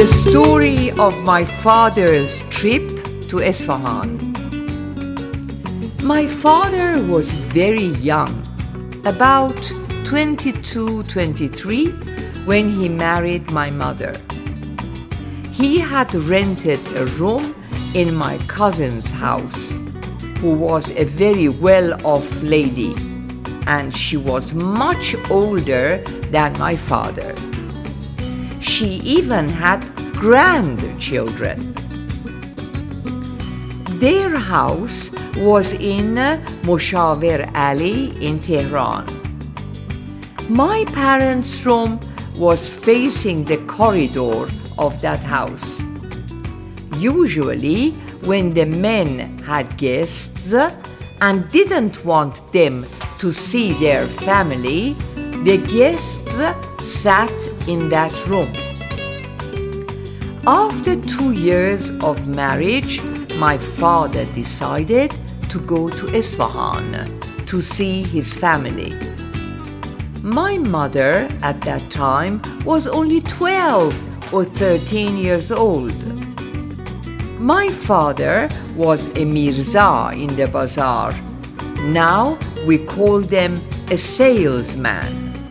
The story of my father's trip to Isfahan. My father was very young, about 22-23, when he married my mother. He had rented a room in my cousin's house, who was a very well-off lady, and she was much older than my father. She even had grandchildren. Their house was in Moshaver Alley in Tehran. My parents' room was facing the corridor of that house. Usually, when the men had guests and didn't want them to see their family, the guests sat in that room. After 2 years of marriage, my father decided to go to Isfahan to see his family. My mother at that time was only 12 or 13 years old. My father was a Mirza in the bazaar. Now we call them a salesman.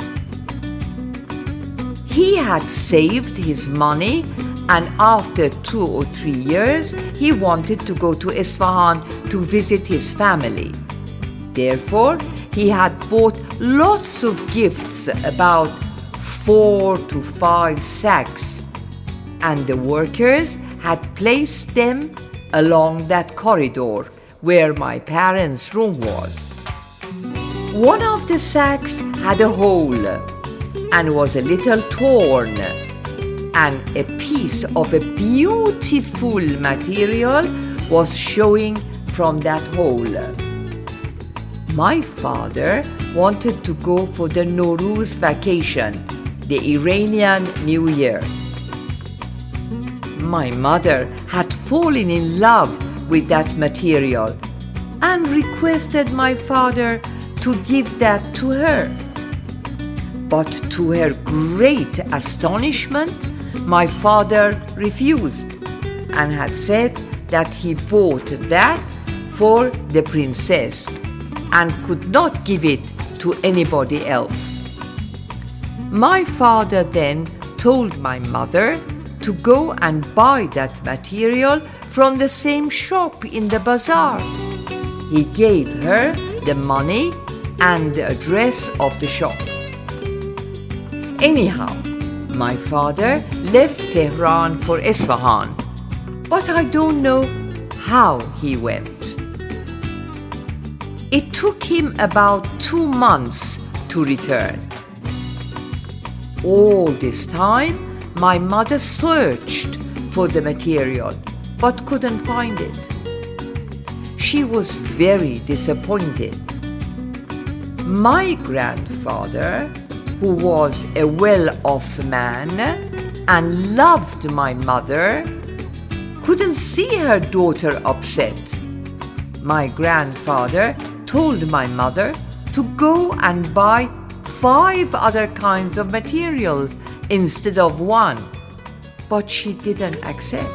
He had saved his money, and after 2 or 3 years, he wanted to go to Isfahan to visit his family. Therefore, he had bought lots of gifts, about 4 to 5 sacks, and the workers had placed them along that corridor where my parents' room was. One of the sacks had a hole and was a little torn, and a piece of a beautiful material was showing from that hole. My father wanted to go for the Nowruz vacation, the Iranian New Year. My mother had fallen in love with that material and requested my father to give that to her. But to her great astonishment, my father refused and had said that he bought that for the princess and could not give it to anybody else. My father then told my mother to go and buy that material from the same shop in the bazaar. He gave her the money and the address of the shop. Anyhow, my father left Tehran for Isfahan, but I don't know how he went. It took him about 2 months to return. All this time, my mother searched for the material, but couldn't find it. She was very disappointed. My grandfather, who was a well-off man and loved my mother, couldn't see her daughter upset. My grandfather told my mother to go and buy 5 other kinds of materials instead of 1, but she didn't accept.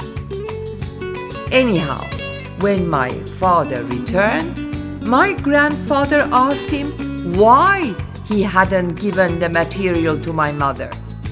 Anyhow, when my father returned, my grandfather asked him why he hadn't given the material to my mother.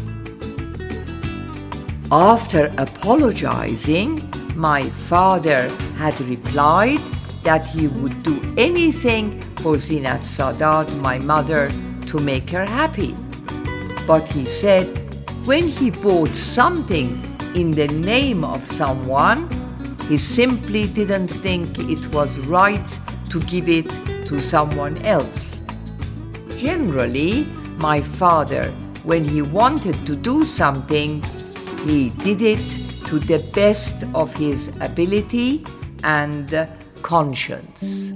After apologizing, my father had replied that he would do anything for Zinat Sadat, my mother, to make her happy. But he said when he bought something in the name of someone, he simply didn't think it was right to give it to someone else. Generally, my father, when he wanted to do something, he did it to the best of his ability and conscience.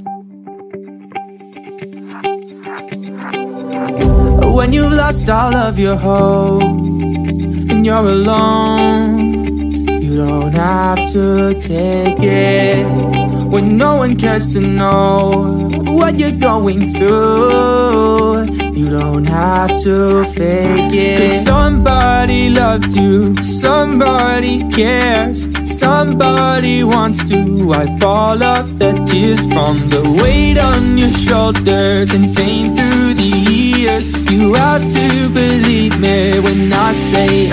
When you've lost all of your hope and you're alone, you don't have to take it. When no one cares to know what you're going through, you don't have to fake it. 'Cause somebody loves you, somebody cares, somebody wants to wipe all of the tears from the weight on your shoulders and pain through the years. You have to believe me when I say